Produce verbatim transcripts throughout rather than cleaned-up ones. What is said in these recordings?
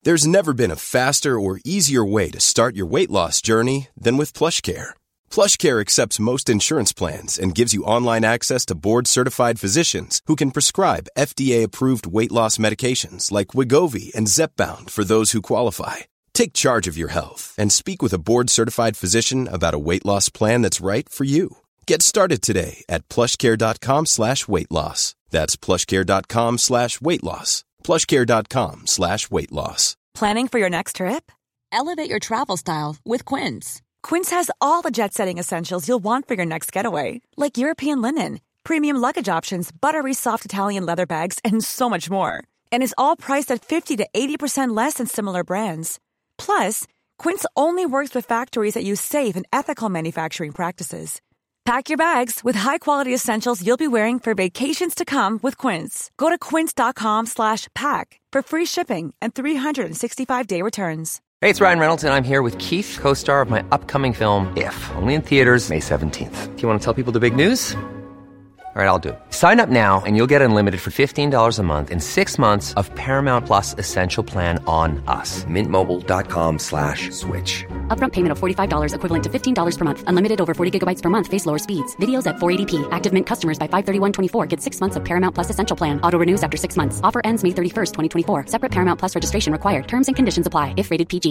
There's never been a faster or easier way to start your weight loss journey than with PlushCare. PlushCare accepts most insurance plans and gives you online access to board-certified physicians who can prescribe F D A-approved weight loss medications like Wegovy and Zepbound for those who qualify. Take charge of your health and speak with a board-certified physician about a weight loss plan that's right for you. Get started today at plushcare.com slash weight loss. That's plushcare.com slash weight loss. plushcare.com slash weight loss. Planning for your next trip? Elevate your travel style with Quince. Quince has all the jet-setting essentials you'll want for your next getaway, like European linen, premium luggage options, buttery soft Italian leather bags, and so much more. And is all priced at fifty to eighty percent less than similar brands. Plus, Quince only works with factories that use safe and ethical manufacturing practices. Pack your bags with high-quality essentials you'll be wearing for vacations to come with Quince. Go to quince.com slash pack for free shipping and three sixty-five day returns. Hey, it's Ryan Reynolds, and I'm here with Keith, co-star of my upcoming film, If, only in theaters May seventeenth. Do you want to tell people the big news? All right, I'll do it. Sign up now and you'll get unlimited for fifteen dollars a month and six months of Paramount Plus Essential Plan on us. Mintmobile.com slash switch. Upfront payment of forty-five dollars equivalent to fifteen dollars per month. Unlimited over forty gigabytes per month. Face lower speeds. Videos at four eighty p. Active Mint customers by five thirty-one twenty-four get six months of Paramount Plus Essential Plan. Auto renews after six months. Offer ends May thirty-first, twenty twenty-four. Separate Paramount Plus registration required. Terms and conditions apply if rated P G.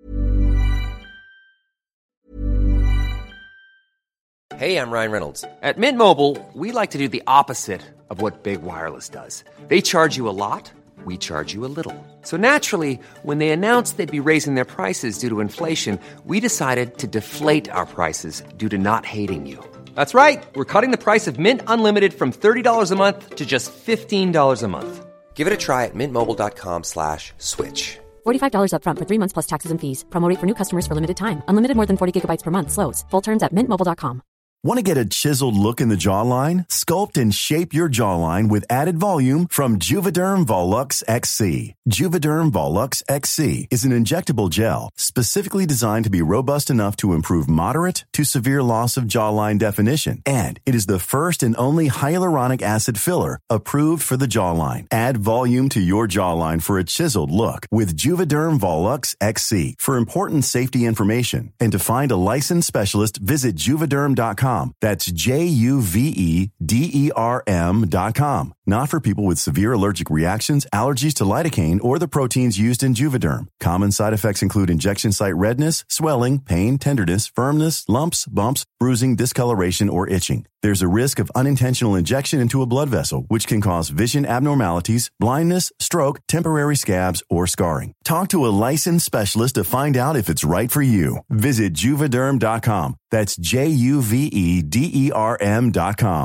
Hey, I'm Ryan Reynolds. At Mint Mobile, we like to do the opposite of what Big Wireless does. They charge you a lot, we charge you a little. So naturally, when they announced they'd be raising their prices due to inflation, we decided to deflate our prices due to not hating you. That's right. We're cutting the price of Mint Unlimited from thirty dollars a month to just fifteen dollars a month. Give it a try at mintmobile.com slash switch. forty-five dollars up front for three months plus taxes and fees. Promo rate for new customers for limited time. Unlimited more than forty gigabytes per month. Slows full terms at mint mobile dot com. Want to get a chiseled look in the jawline? Sculpt and shape your jawline with added volume from Juvederm Volux X C. Juvederm Volux X C is an injectable gel specifically designed to be robust enough to improve moderate to severe loss of jawline definition. And it is the first and only hyaluronic acid filler approved for the jawline. Add volume to your jawline for a chiseled look with Juvederm Volux X C. For important safety information and to find a licensed specialist, visit juvederm dot com. That's J U V E D E R M dot com. Not for people with severe allergic reactions, allergies to lidocaine, or the proteins used in Juvederm. Common side effects include injection site redness, swelling, pain, tenderness, firmness, lumps, bumps, bruising, discoloration, or itching. There's a risk of unintentional injection into a blood vessel, which can cause vision abnormalities, blindness, stroke, temporary scabs, or scarring. Talk to a licensed specialist to find out if it's right for you. Visit juvederm dot com. That's J U V E D E R M dot com.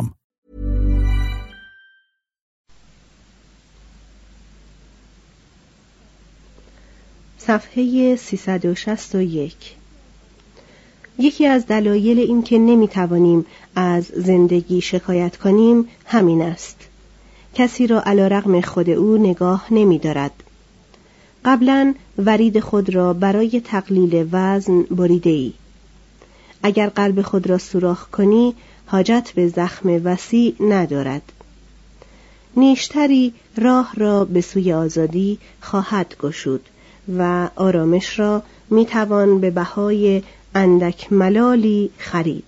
صفحه سیصد و شصت و یک. یکی از دلایل این که نمی توانیم از زندگی شکایت کنیم همین است. کسی را علیرغم خود او نگاه نمی دارد. قبلا ورید خود را برای تقلیل وزن بریده ای. اگر قلب خود را سوراخ کنی حاجت به زخم وسیع ندارد. نیشتری راه را به سوی آزادی خواهد گشود و آرامش را می توان به بهای اندک ملالی خرید.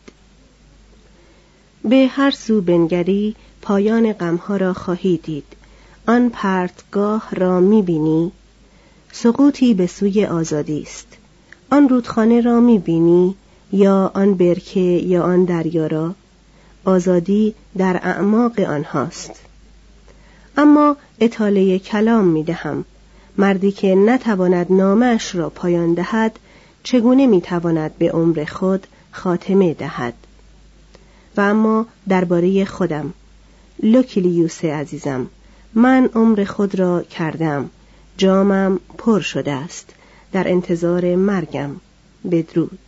به هر سو بنگری پایان غمها را خواهی دید. آن پرتگاه را می بینی؟ سقوطی به سوی آزادی است. آن رودخانه را می بینی؟ یا آن برکه یا آن دریا را؟ آزادی در اعماق آنهاست. اما اطاله کلام می دهم. مردی که نتواند نامش را پایان دهد چگونه می تواند به عمر خود خاتمه دهد؟ و اما درباره خودم، لوکیلیوس عزیزم، من عمر خود را کردم، جامم پر شده است، در انتظار مرگم. بدرود.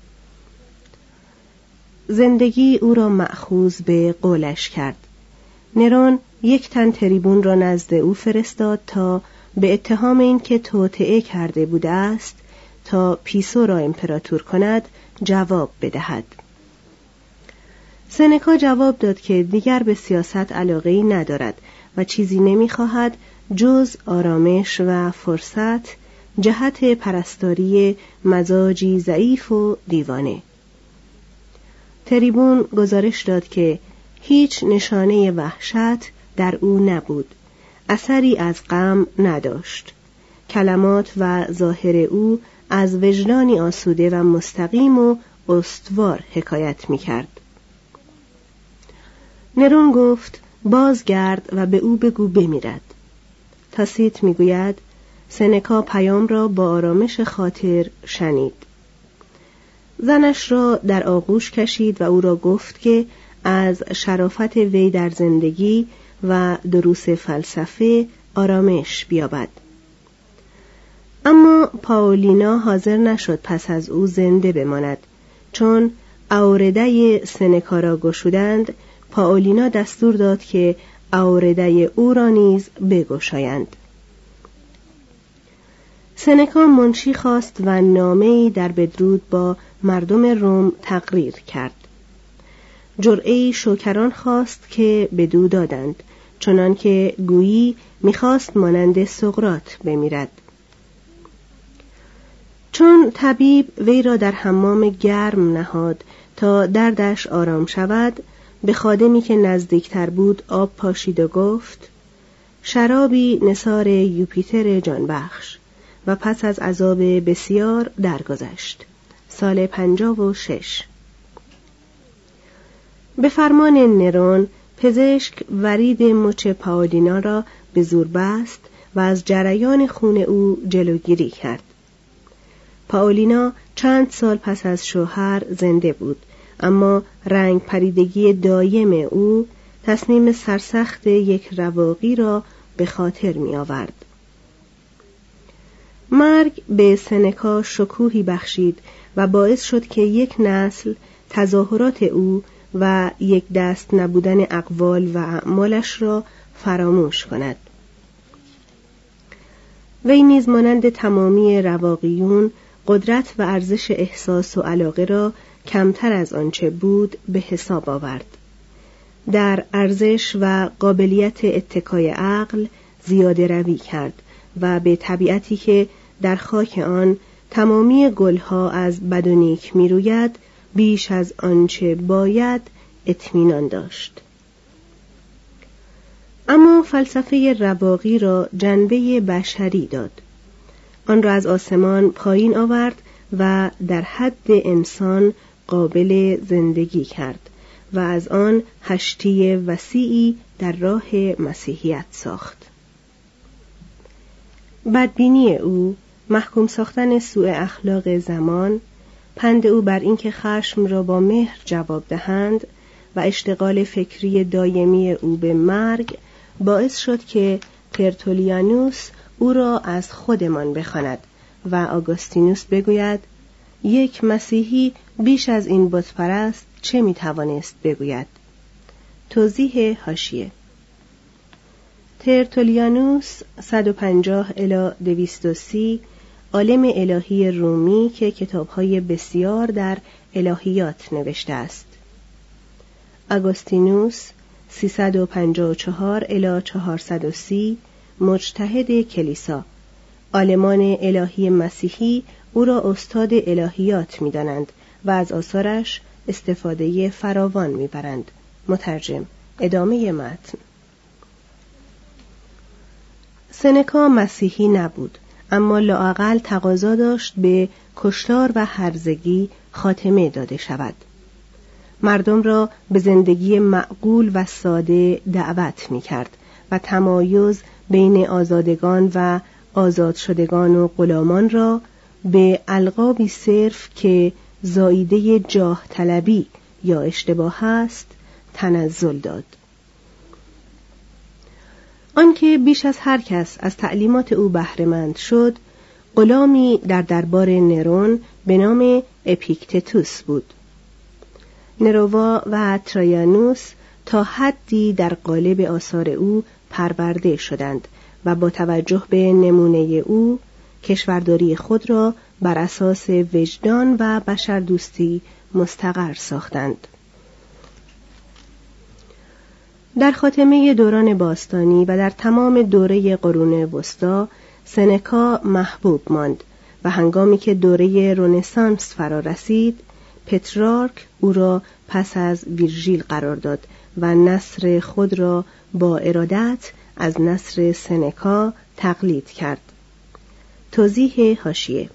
زندگی او را مأخوذ به قولش کرد. نرون یک تن تریبون را نزد او فرستاد تا به اتهام این که توطئه کرده بوده است تا پیسو را امپراتور کند جواب بدهد. سنکا جواب داد که دیگر به سیاست علاقه‌ای ندارد و چیزی نمی‌خواهد جز آرامش و فرصت جهت پرستاری مزاجی ضعیف و دیوانه. تریبون گزارش داد که هیچ نشانه وحشت در او نبود، اثری از غم نداشت. کلمات و ظاهر او از وجدانی آسوده و مستقیم و استوار حکایت می‌کرد. نرون گفت بازگرد و به او بگو بمیرد. تاسیت میگوید سنکا پیام را با آرامش خاطر شنید. زنش را در آغوش کشید و او را گفت که از شرافت وی در زندگی و دروس فلسفه آرامش بیابد. اما پائولینا حاضر نشد پس از او زنده بماند. چون آورده سنکا را گشودند، پائولینا دستور داد که آورده او را نیز بگشایند. سنکا منشی خواست و نامه‌ای در بدرود با مردم روم تقریر کرد. جرعه‌ای شوکران خواست که بدو دادند، چنان که گویی می‌خواست مانند سقراط بمیرد. چون طبیب وی را در حمام گرم نهاد تا دردش آرام شود، به خادمی که نزدیکتر بود آب پاشید و گفت شرابی نثار یوپیتر جانبخش، و پس از عذاب بسیار درگذشت. سال پنجاه و شش. به فرمان نرون پزشک ورید مچ پائولینا را به زور بست و از جریان خون او جلوگیری کرد. پائولینا چند سال پس از شوهر زنده بود، اما رنگ پریدگی دایم او تصمیم سرسخت یک رواقی را به خاطر می آورد. مرگ به سنکا شکوهی بخشید و باعث شد که یک نسل تظاهرات او و یک دست نبودن اقوال و اعمالش را فراموش کند. وی نیز مانند تمامی رواقیون قدرت و ارزش احساس و علاقه را کمتر از آنچه بود به حساب آورد. در ارزش و قابلیت اتکای عقل زیاده روی کرد و به طبیعتی که در خاک آن تمامی گلها از بد و نیک می روید بیش از آنچه باید اطمینان داشت. اما فلسفه رواقی را جنبه بشری داد. آن را از آسمان پایین آورد و در حد انسان قابل زندگی کرد و از آن هشتی وسیعی در راه مسیحیت ساخت. بدبینی او، محکوم ساختن سوء اخلاق زمان، پند او بر اینکه خشم را با مهر جواب دهند و اشتغال فکری دایمی او به مرگ باعث شد که ترتولیانوس او را از خودمان بخواند و آگوستینوس بگوید یک مسیحی بیش از این بتپرست چه میتوانست بگوید. توضیح حاشیه: ترتولیانوس صد و پنجاه الی دویست و سی عالم الهی رومی که کتاب‌های بسیار در الهیات نوشته است. آگوستینوس سیصد و پنجاه و چهار الی چهارصد و سی مجتهد کلیسا. عالمان الهی مسیحی او را استاد الهیات می‌دانند و از آثارش استفاده فراوان می‌برند. مترجم. ادامه متن. سنکا مسیحی نبود، اما لااقل تقاضا داشت به کشتار و هرزگی خاتمه داده شود. مردم را به زندگی معقول و ساده دعوت می‌کرد و تمایز بین آزادگان و آزاد شدگان و غلامان را به القابی صرف که زاییده جاه طلبی یا اشتباه است تنزل داد. آنکه بیش از هر کس از تعلیمات او بهره‌مند شد، غلامی در دربار نرون به نام اپیکتتوس بود. نرووا و ترایانوس تا حدی در قالب آثار او پرورده شدند و با توجه به نمونه او کشورداری خود را بر اساس وجدان و بشردوستی مستقر ساختند. در خاتمه دوران باستانی و در تمام دوره قرون وسطی سنکا محبوب ماند و هنگامی که دوره رنسانس فرا رسید، پترارک او را پس از ویرژیل قرار داد و نثر خود را با ارادت از نثر سنکا تقلید کرد. توضیح حاشیه: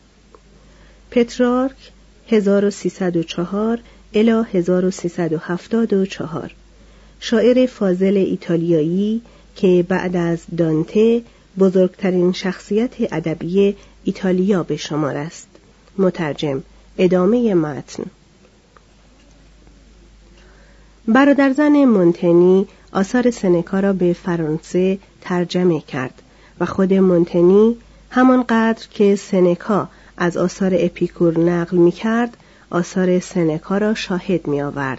پترارک هزار و سیصد و چهار الی هزار و سیصد و هفتاد و چهار، شاعر فاضل ایتالیایی که بعد از دانته بزرگترین شخصیت ادبی ایتالیا به شمار است. مترجم. ادامه متن. برادرزن مونتنی آثار سنکا را به فرانسه ترجمه کرد و خود مونتنی همانقدر که سنکا از آثار اپیکور نقل می کرد، آثار سنکا را شاهد می آورد.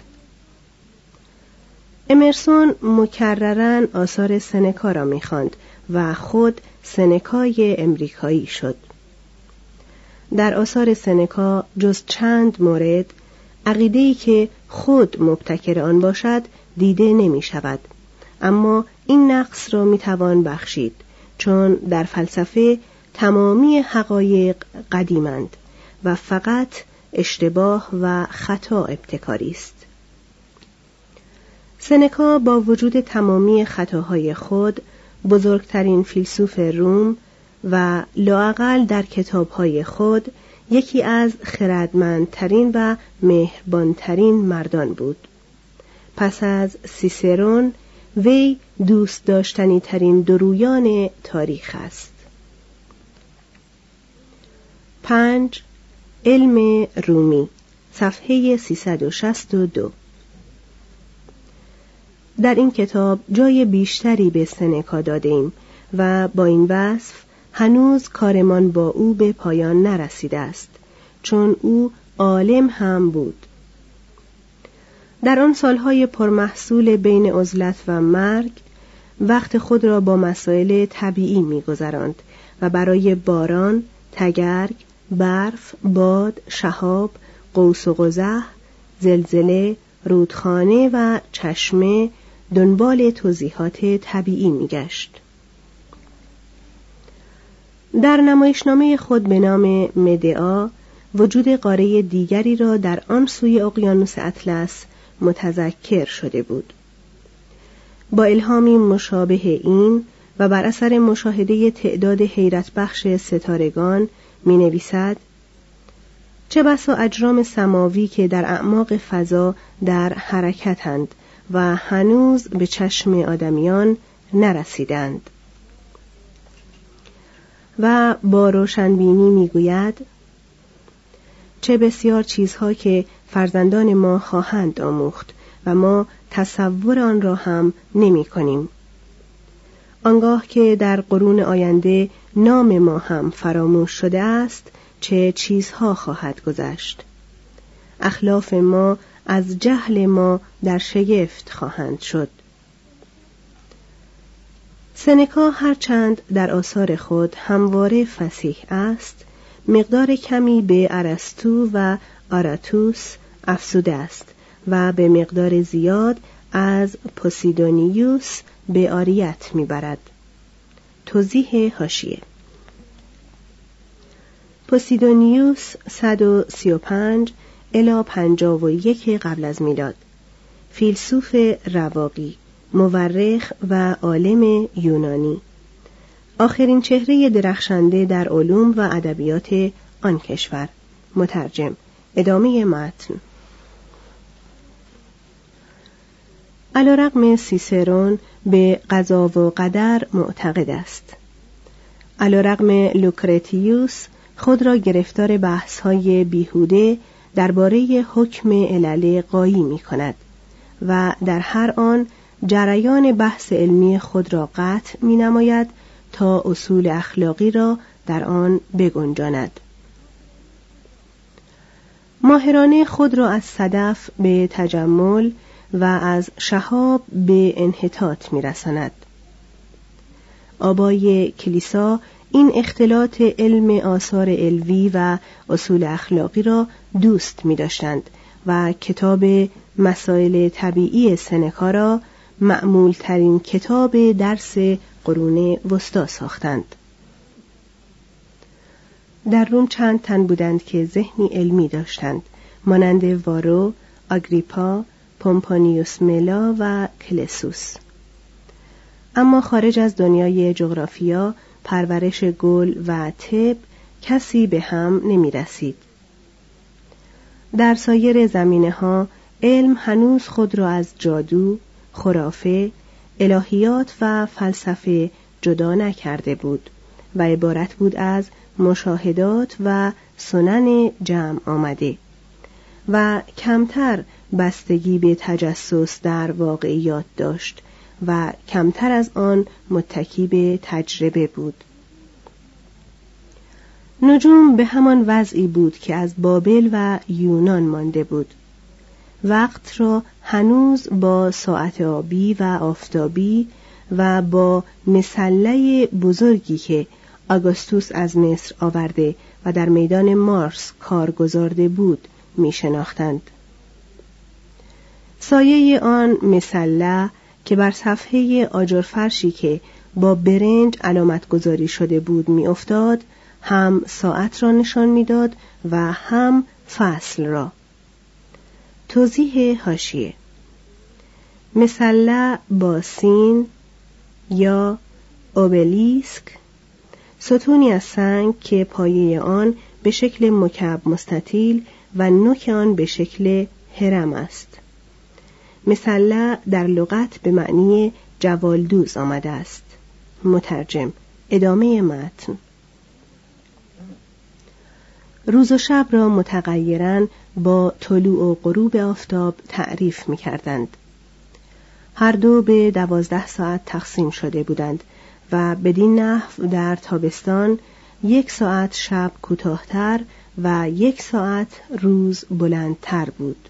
امرسون مکرراً آثار سنکا را می خواند و خود سنکای امریکایی شد. در آثار سنکا جز چند مورد عقیده‌ای که خود مبتکر آن باشد دیده نمی شود، اما این نقص را می توان بخشید، چون در فلسفه تمامی حقایق قدیمند و فقط اشتباه و خطا ابتکاری است. سنکا با وجود تمامی خطاهای خود بزرگترین فیلسوف روم و لااقل در کتابهای خود یکی از خردمندترین و مهربانترین مردان بود. پس از سیسرون وی دوست داشتنی ترین درویان تاریخ است. پنج. علم رومی، صفحه سیصد و شصت و دو. در این کتاب جای بیشتری به سنکا دادیم و با این وصف هنوز کارمان با او به پایان نرسیده است، چون او عالم هم بود. در آن سالهای پرمحصول بین عزلت و مرگ وقت خود را با مسائل طبیعی می‌گذراند و برای باران، تگرگ، برف، باد، شهاب، قوس و قزح، زلزله، رودخانه و چشمه دنبال توضیحات طبیعی می‌گشت. در نمایشنامه خود به نام مدعا وجود قاره دیگری را در آن سوی اقیانوس اطلس متذکر شده بود. با الهامی مشابه این و بر اثر مشاهده تعداد حیرت بخش ستارگان می نویسد: چه بسا اجرام سماوی که در اعماق فضا در حرکتند و هنوز به چشم آدمیان نرسیدند. و با روشنبینی می گوید: چه بسیار چیزها که فرزندان ما خواهند آموخت و ما تصور آن را هم نمی کنیم. آنگاه که در قرون آینده نام ما هم فراموش شده است، چه چیزها خواهد گذشت. اخلاف ما از جهل ما در شگفت خواهند شد. سنکا هرچند در آثار خود همواره فصیح است، مقدار کمی به ارسطو و آراتوس افزوده است و به مقدار زیاد از پوسیدونیوس به عاریت میبرد. توضیح حاشیه: پوسیدونیوس صد و سی و پنج الی پنجاه و یک قبل از میلاد، فیلسوف رواقی، مورخ و عالم یونانی، آخرین چهره درخشنده در علوم و ادبیات آن کشور. مترجم. ادامه متن. علیرغم سیسرون به قضا و قدر معتقد است. علیرغم لوکرتیوس خود را گرفتار بحث‌های بیهوده درباره حکم علل قایی می کند و در هر آن جریان بحث علمی خود را قطع می نماید تا اصول اخلاقی را در آن بگنجاند. ماهرانه خود را از صدف به تجمل و از شهاب به انحطاط می رساند. آبای کلیسا این اختلاط علم آثار علوی و اصول اخلاقی را دوست می داشتند و کتاب مسائل طبیعی سنکا را معمول ترین کتاب درس قرون وسطی ساختند. در روم چند تن بودند که ذهنی علمی داشتند، مانند وارو، آگریپا، پومپانیوس ملا و کلسوس. اما خارج از دنیای جغرافیا، پرورش گل و طب کسی به هم نمی رسید. در سایر زمینه‌ها علم هنوز خود را از جادو، خرافه، الهیات و فلسفه جدا نکرده بود و عبارت بود از مشاهدات و سنن جمع آمده و کمتر بستگی به تجسس در واقعیات داشت و کمتر از آن متکی به تجربه بود. نجوم به همان وضعی بود که از بابل و یونان مانده بود. وقت را هنوز با ساعت آبی و آفتابی و با مسله بزرگی که آگوستوس از مصر آورده و در میدان مارس کار گذارده بود می شناختند. سایه آن مسله که بر صفحه آجرفرشی که با برنج علامت گذاری شده بود می افتاد، هم ساعت را نشان می داد و هم فصل را. توضیح حاشیه: مسله با سین یا اوبلیسک، ستونی از سنگ که پایه آن به شکل مکعب مستطیل و نوک آن به شکل هرم است. مسله در لغت به معنی جوالدوز آمده است. مترجم. ادامه متن. روز و شب را متغیراً با طلوع و غروب آفتاب تعریف می کردند. هر دو به دوازده ساعت تقسیم شده بودند و بدین نحو در تابستان یک ساعت شب کوتاه‌تر و یک ساعت روز بلندتر بود.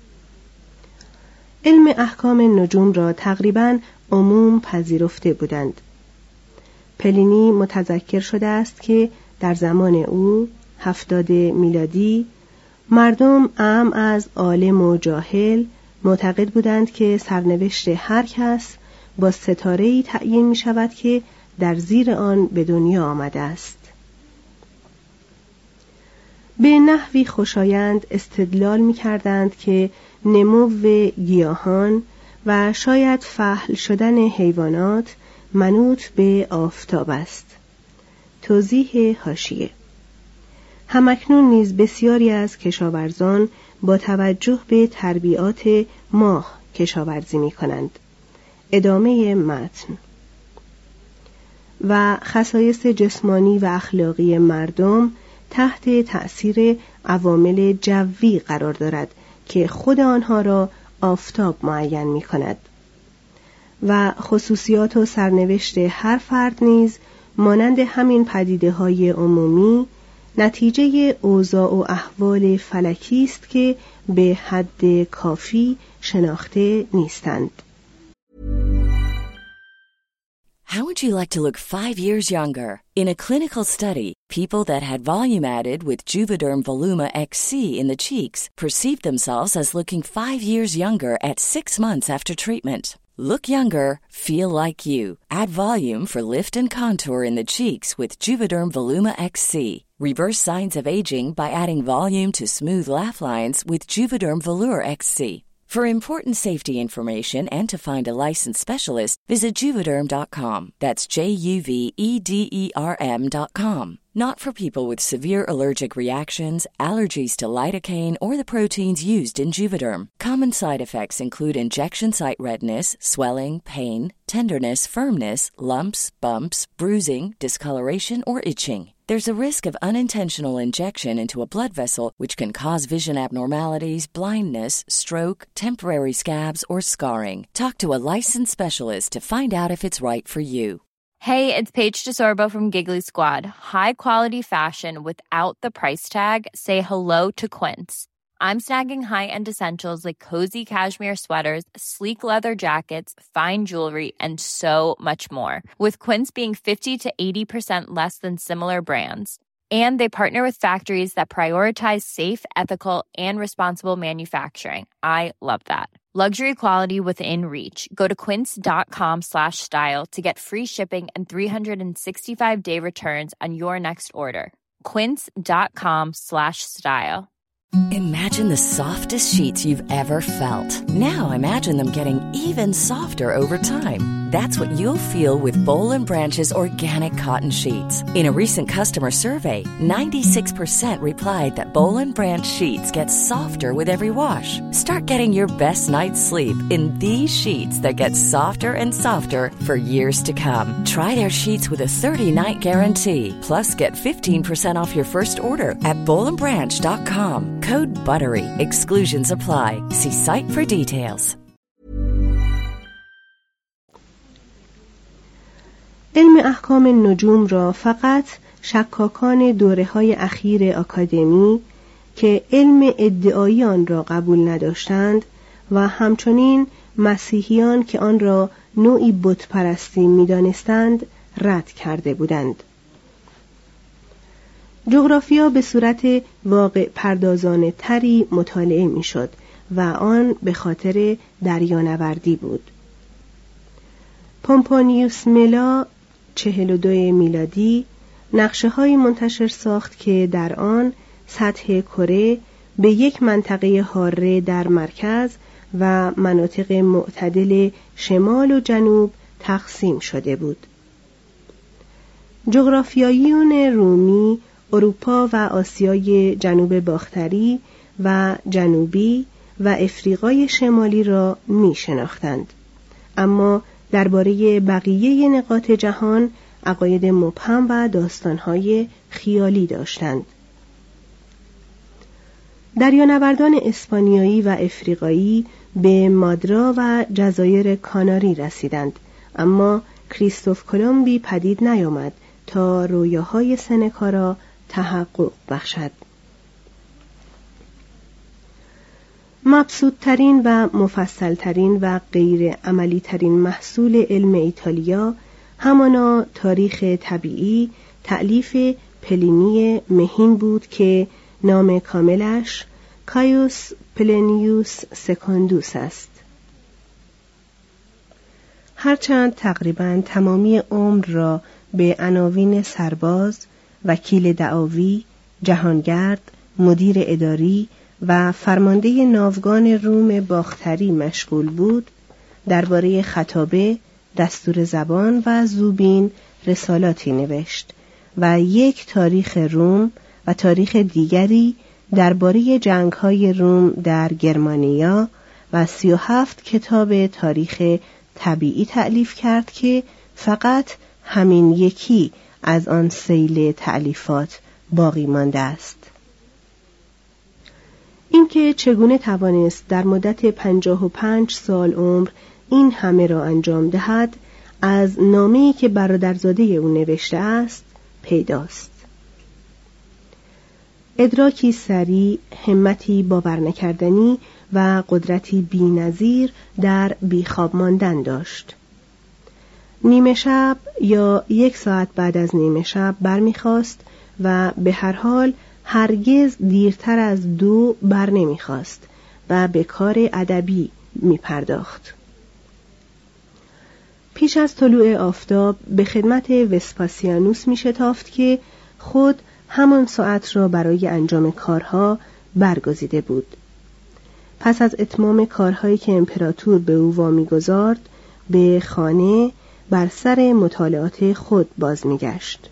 علم احکام نجوم را تقریباً عموم پذیرفته بودند. پلینی متذکر شده است که در زمان او هفتاد میلادی مردم اعم از عالم و جاهل معتقد بودند که سرنوشت هر کس با ستاره‌ای تعیین می شود که در زیر آن به دنیا آمده است. به نحوی خوشایند استدلال می کردند که نمو گیاهان و شاید فحل شدن حیوانات منوط به آفتاب است. توضیح حاشیه: همکنون نیز بسیاری از کشاورزان با توجه به تربیات ماه کشاورزی می کنند. ادامه متن. و خصایص جسمانی و اخلاقی مردم تحت تأثیر عوامل جوی قرار دارد که خود آنها را آفتاب معین می کند و خصوصیات و سرنوشت هر فرد نیز مانند همین پدیده های عمومی نتیجه اوضاع و احوال فلکی است که به حد کافی شناخته نیستند. How would you like to look five years younger? In a clinical study, people that had volume added with Juvederm Voluma X C in the cheeks perceived themselves as looking five years younger at six months after treatment. Look younger, feel like you. Add volume for lift and contour in the cheeks with Juvederm Voluma X C. Reverse signs of aging by adding volume to smooth laugh lines with Juvederm Volure X C. For important safety information and to find a licensed specialist, visit Juvederm dot com. That's J U V E D E R M dot com. Not for people with severe allergic reactions, allergies to lidocaine, or the proteins used in Juvederm. Common side effects include injection site redness, swelling, pain, tenderness, firmness, lumps, bumps, bruising, discoloration, or itching. There's a risk of unintentional injection into a blood vessel, which can cause vision abnormalities, blindness, stroke, temporary scabs, or scarring. Talk to a licensed specialist to find out if it's right for you. Hey, it's Paige DeSorbo from Giggly Squad. High quality fashion without the price tag. Say hello to Quince. I'm snagging high-end essentials like cozy cashmere sweaters, sleek leather jackets, fine jewelry, and so much more. With Quince being fifty to eighty percent less than similar brands. And they partner with factories that prioritize safe, ethical, and responsible manufacturing. I love that. Luxury quality within reach. Go to quince dot com slash style to get free shipping and three hundred sixty-five day returns on your next order. quince.com slash style. Imagine the softest sheets you've ever felt. Now imagine them getting even softer over time. That's what you'll feel with Boll and Branch's organic cotton sheets. In a recent customer survey, ninety-six percent replied that Boll and Branch sheets get softer with every wash. Start getting your best night's sleep in these sheets that get softer and softer for years to come. Try their sheets with a thirty-night guarantee. Plus, get fifteen percent off your first order at boll and branch dot com. Code BUTTERY. Exclusions apply. See site for details. علم احکام نجوم را فقط شکاکان دوره‌های اخیر آکادمی که علم ادعایی آن را قبول نداشتند و همچنین مسیحیان که آن را نوعی بت‌پرستی می‌دانستند رد کرده بودند. جغرافیا به صورت واقع پردازانه تری مطالعه می‌شد و آن به خاطر دریانوردی بود. پومپونیوس ملا چهل و دو میلادی نقشه‌هایی منتشر ساخت که در آن سطح کره به یک منطقه حاره در مرکز و مناطق معتدل شمال و جنوب تقسیم شده بود. جغرافیاییون رومی اروپا و آسیای جنوب باختری و جنوبی و افریقای شمالی را می شناختند، اما درباره بقیه نقاط جهان عقاید مبهم و داستانهای خیالی داشتند. دریانوردان اسپانیایی و افریقایی به مادرا و جزایر کاناری رسیدند، اما کریستوف کلمبی پدید نیامد تا رویاهای سنکا را تحقق بخشد. مبسوط‌ترین و مفصل‌ترین و غیر عملی‌ترین محصول علم ایتالیا همانا تاریخ طبیعی تألیف پلینی مهین بود که نام کاملش کایوس پلینیوس سکوندوس است. هرچند تقریباً تمامی عمر را به عناوین سرباز، وکیل دعاوی، جهانگرد، مدیر اداری و فرمانده ناوگان روم باختری مشغول بود، درباره خطابه، دستور زبان و زوبین رسالاتی نوشت و یک تاریخ روم و تاریخ دیگری درباره جنگ‌های روم در گرمانیا و سی و هفت کتاب تاریخ طبیعی تألیف کرد که فقط همین یکی از آن سیل تألیفات باقی مانده است. اینکه چگونه توانست در مدت پنجاه و پنج سال عمر این همه را انجام دهد از نامه‌ای که برادرزاده او نوشته است پیداست. ادراکی سریع، همتی باور نکردنی و قدرتی بی‌نظیر در بیخواب ماندن داشت. نیمه شب یا یک ساعت بعد از نیمه شب برمیخواست و به هر حال هرگز دیرتر از دو بر نمیخواست و به کار ادبی میپرداخت. پیش از طلوع آفتاب به خدمت وسپاسیانوس میشتافت که خود همان ساعت را برای انجام کارها برگزیده بود. پس از اتمام کارهایی که امپراتور به او وامی گذارد به خانه بر سر مطالعات خود باز میگشت.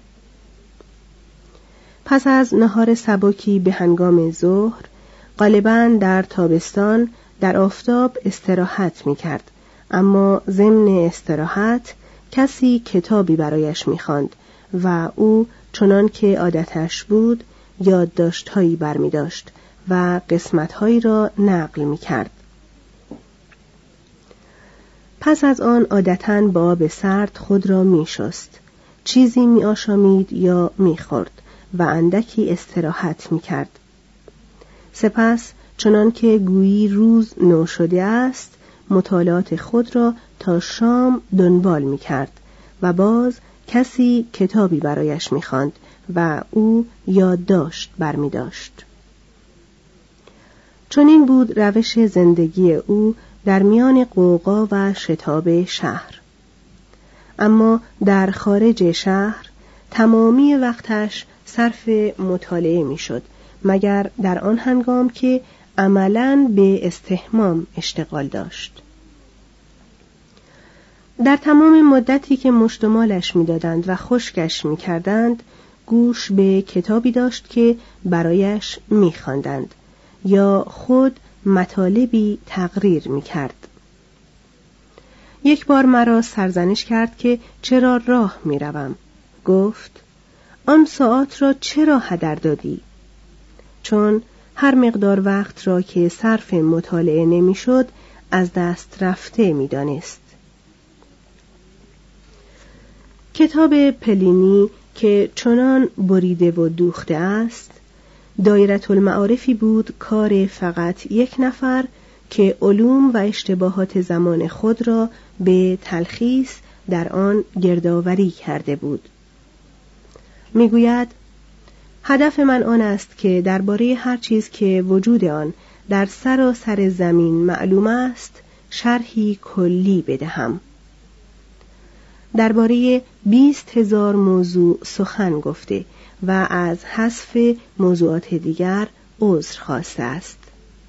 پس از نهار سبکی به هنگام ظهر غالباً در تابستان در آفتاب استراحت میکرد، اما ضمن استراحت کسی کتابی برایش میخواند و او چنان که عادتش بود یادداشت‌هایی برمی‌داشت و قسمت‌هایی را نقل می‌کرد. پس از آن عادتاً با آب سرد خود را می‌شست، چیزی می‌آشامید یا می‌خورد و اندکی استراحت می‌کرد. سپس چنان که گویی روز نو شده است مطالعات خود را تا شام دنبال می‌کرد و باز کسی کتابی برایش می‌خواند و او یادداشت برمی‌داشت. چون این بود روش زندگی او در میان غوغا و شتاب شهر. اما در خارج شهر تمامی وقتش صرف مطالعه میشد، مگر در آن هنگام که عملاً به استحمام اشتغال داشت. در تمام مدتی که مشتمالش می‌دادند و خشکش می‌کردند، گوش به کتابی داشت که برایش می‌خواندند یا خود مطالبی تقریر می‌کرد. یک بار مرا سرزنش کرد که چرا راه می‌روم. گفت: آن ساعت را چرا هدر دادی؟ چون هر مقدار وقت را که صرف مطالعه نمی‌شد از دست رفته می‌دانست. کتاب پلینی که چنان بریده و دوخته است، دایره المعارفی بود کار فقط یک نفر که علوم و اشتباهات زمان خود را به تلخیص در آن گردآوری کرده بود. میگوید: هدف من آن است که درباره هر چیز که وجود آن در سراسر زمین معلوم است شرحی کلی بدهم. درباره بیست هزار موضوع سخن گفته و از حذف موضوعات دیگر عذر خواسته است.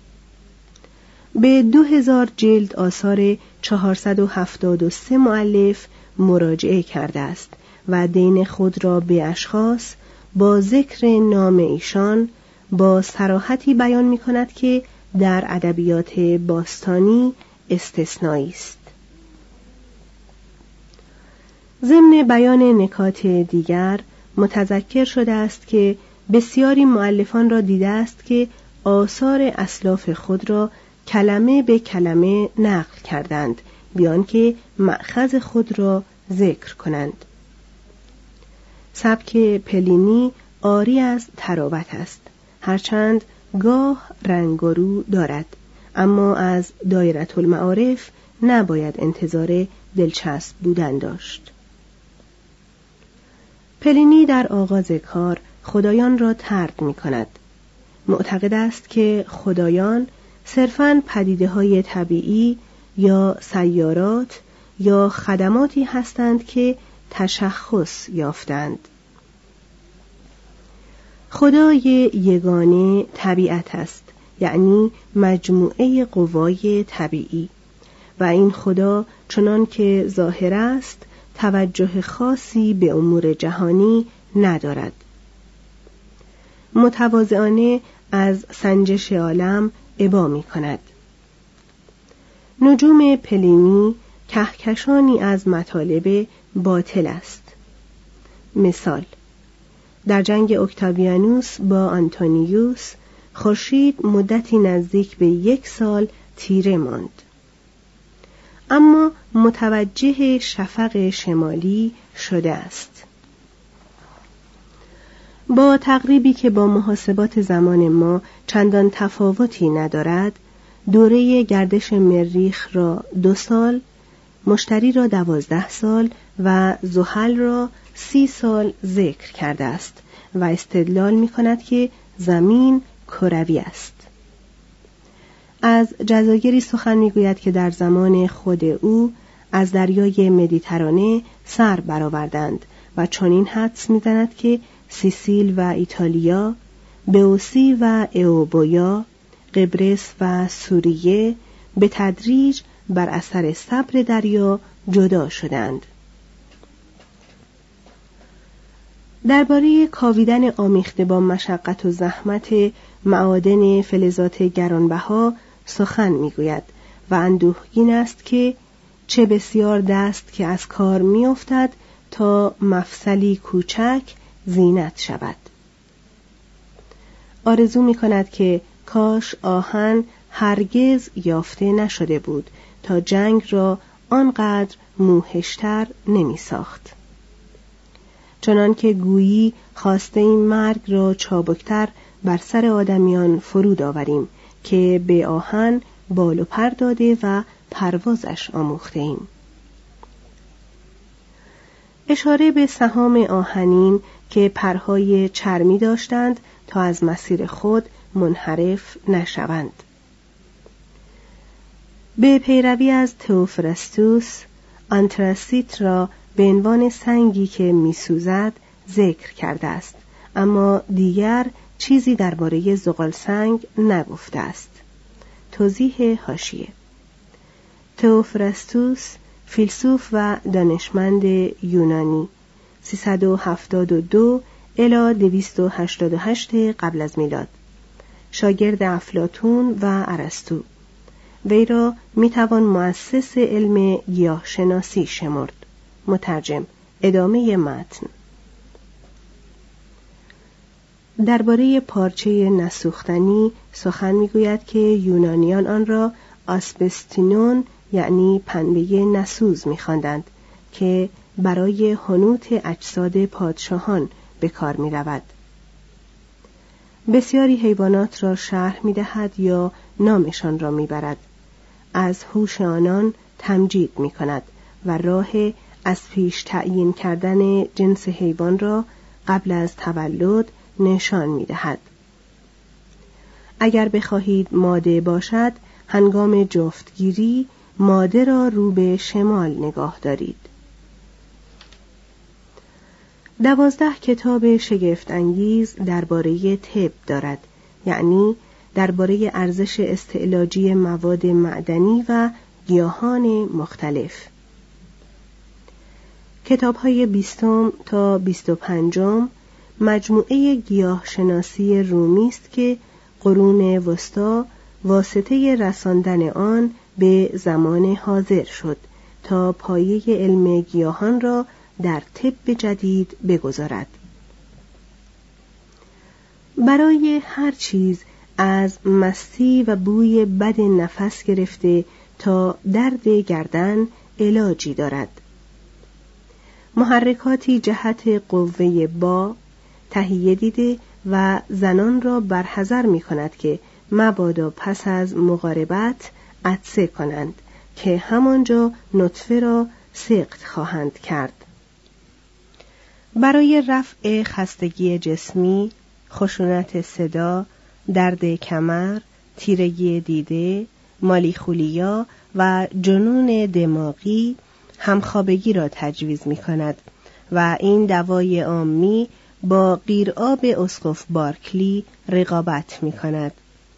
به دو هزار جلد آثار چهارصد و هفتاد و سه مؤلف مراجعه کرده است و دین خود را به اشخاص با ذکر نام ایشان با صراحتی بیان می کند که در ادبیات باستانی استثنایی است. ضمن بیان نکات دیگر متذکر شده است که بسیاری مؤلفان را دیده است که آثار اسلاف خود را کلمه به کلمه نقل کردند بیان که مأخذ خود را ذکر کنند. سبک پلینی عاری از تراوت است، هرچند گاه رنگ و رو دارد، اما از دایره المعارف نباید انتظار دلچسب بودن داشت. پلینی در آغاز کار خدایان را طرد می کند. معتقد است که خدایان صرفاً پدیده‌های طبیعی یا سیارات یا خدماتی هستند که تشخص یافتند. خدای یگانه طبیعت است، یعنی مجموعه قوای طبیعی، و این خدا چنان که ظاهر است توجه خاصی به امور جهانی ندارد. متواضعانه از سنجش عالم ابا می کند. نجوم پلینی کهکشانی از مطالب باطل است. مثال: در جنگ اکتاویانوس با آنتونیوس خورشید مدتی نزدیک به یک سال تیره ماند، اما متوجه شفق شمالی شده است. با تقریبی که با محاسبات زمان ما چندان تفاوتی ندارد، دوره گردش مریخ را دو سال، مشتری را دوازده سال و زحل را سی سال ذکر کرده است و استدلال می کند که زمین کروی است. از جزایری سخن می گوید که در زمان خود او از دریای مدیترانه سر برآوردند و چنین حدس می زند که سیسیل و ایتالیا، بئوسی و ایوبویا، قبرس و سوریه به تدریج بر اثر صبر دریا جدا شدند. درباره کاویدن آمیخته با مشقت و زحمت معادن فلزات گرانبها سخن میگوید و اندوهگین است که چه بسیار دست که از کار میافتد تا مفصلی کوچک زینت شود. آرزو میکند که کاش آهن هرگز یافته نشده بود تا جنگ را آنقدر موحشتر نمی ساخت. چنان که گویی خواسته این مرگ را چابکتر بر سر آدمیان فرود آوریم که به آهن بال و پر داده و پروازش آموخته ایم. اشاره به سهام آهنین که پرهای چرمی داشتند تا از مسیر خود منحرف نشوند. به پیروی از تئوفرستوس، آنتراسیت را به عنوان سنگی که میسوزد ذکر کرده است، اما دیگر چیزی درباره زغالسنگ نگفته است. توضیح حاشیه: تئوفرستوس، فیلسوف و دانشمند یونانی، سیصد و هفتاد و دو الی دویست و هشتاد و هشت قبل از میلاد، شاگرد افلاطون و ارسطو. وی را میتوان مؤسس علم گیاهشناسی شمرد. مترجم. ادامه متن. درباره پارچه نسوختنی سخن میگوید که یونانیان آن را آسبستینون یعنی پنبه نسوز می‌خواندند که برای حنوط اجساد پادشاهان به کار می‌رود. بسیاری حیوانات را شرح می‌دهد یا نامشان را می‌برد. از هوش آنان تمجید می‌کند و راه از پیش تعیین کردن جنس حیوان را قبل از تولد نشان می‌دهد. اگر بخواهید ماده باشد، هنگام جفتگیری ماده را رو به شمال نگاه دارید. دوازده کتاب شگفت انگیز درباره طب دارد، یعنی درباره ارزش استعلاجی مواد معدنی و گیاهان مختلف. کتاب‌های بیستم تا بیست و پنجم مجموعه گیاه شناسی رومی است که قرون وسطا واسطه رساندن آن به زمان حاضر شد تا پایه علم گیاهان را در طب جدید بگذارد. برای هر چیز از مستی و بوی بد نفس گرفته تا درد گردن علاجی دارد. محرکاتی جهت قوه با تهیه دیده و زنان را برحذر می کند که مبادا پس از مقاربت عطسه کنند که همانجا نطفه را سقط خواهند کرد. برای رفع خستگی جسمی، خشونت صدا، درد کمر، تیرگی دیده، مالیخولیا و جنون دماغی همخوابگی را تجویز می کند و این دوای عامی با قیرآب اسقف بارکلی رقابت می کند.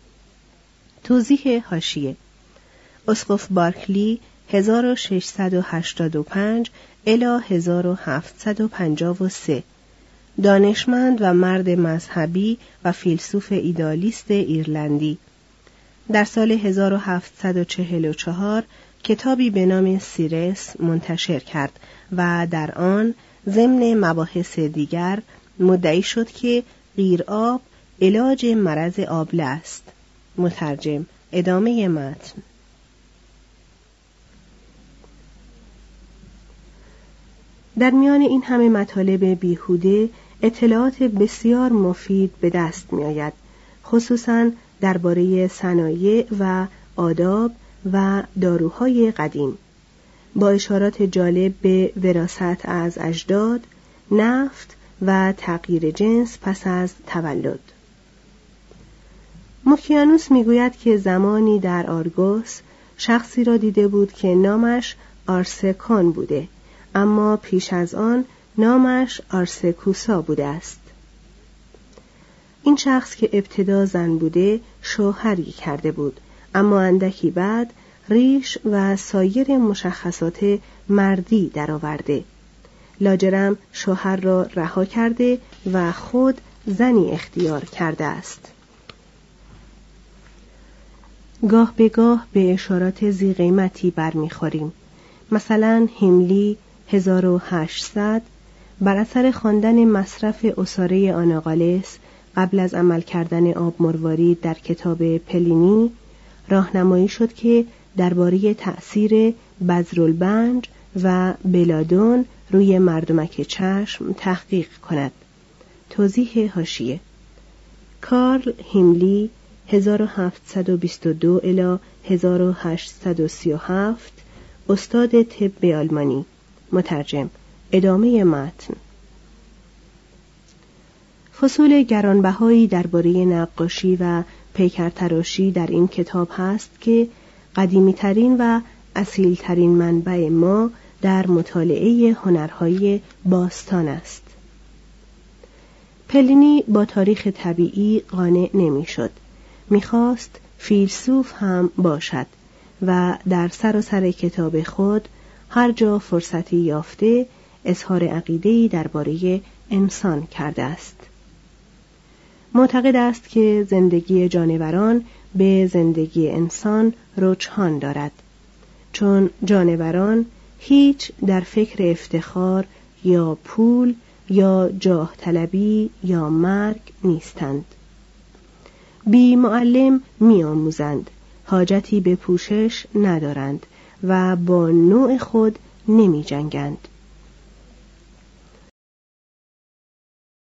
توضیح حاشیه: اسقف بارکلی هزار و ششصد و هشتاد و پنج الی هزار و هفتصد و پنجاه و سه، دانشمند و مرد مذهبی و فیلسوف ایدالیست ایرلندی، در سال هزار و هفتصد و چهل و چهار کتابی به نام سیرس منتشر کرد و در آن ضمن مباحث دیگر مدعی شد که قیرآب علاج مرض آبله است. مترجم. ادامه متن. در میان این همه مطالب بیهوده اطلاعات بسیار مفید به دست می آید، خصوصاً درباره صنایع و آداب و داروهای قدیم، با اشارات جالب به وراثت از اجداد، نفت و تغییر جنس پس از تولد. موکیانوس میگوید که زمانی در آرگوس شخصی را دیده بود که نامش آرسکان بوده، اما پیش از آن نامش آرسکوسا بوده است. این شخص که ابتدا زن بوده شوهری کرده بود، اما اندکی بعد ریش و سایر مشخصات مردی درآورده. لاجرم شوهر را رها کرده و خود زنی اختیار کرده است. گاه به گاه به اشارات ذی قیمتی برمیخوریم. مثلا هیملی هزار و هشتصد بر اثر خواندن مصرف عصاره آناغالس قبل از عمل کردن آب مروارید در کتاب پلینی راهنمایی شد که درباره تأثیر بذرالبنج و بلادون روی مردمک چشم تحقیق کند. توضیح حاشیه: کارل هیملی هزار و هفتصد و بیست و دو الی هزار و هشتصد و سی و هفت، استاد طب آلمانی. مترجم. ادامه متن. فصول گرانبهایی درباره نقاشی و پیکرتراشی در این کتاب هست که قدیمی‌ترین و اصیل‌ترین منبع ما در مطالعه هنرهای باستان است. پلینی با تاریخ طبیعی قانع نمی‌شد. می‌خواست فیلسوف هم باشد و در سراسر کتاب خود هر جا فرصتی یافته اظهار عقیده‌ای درباره انسان کرده است. معتقد است که زندگی جانوران به زندگی انسان رجحان دارد، چون جانوران هیچ در فکر افتخار یا پول یا جاه طلبی یا مرگ نیستند. بی معلم می آموزند، حاجتی به پوشش ندارند و با نوع خود نمی جنگند.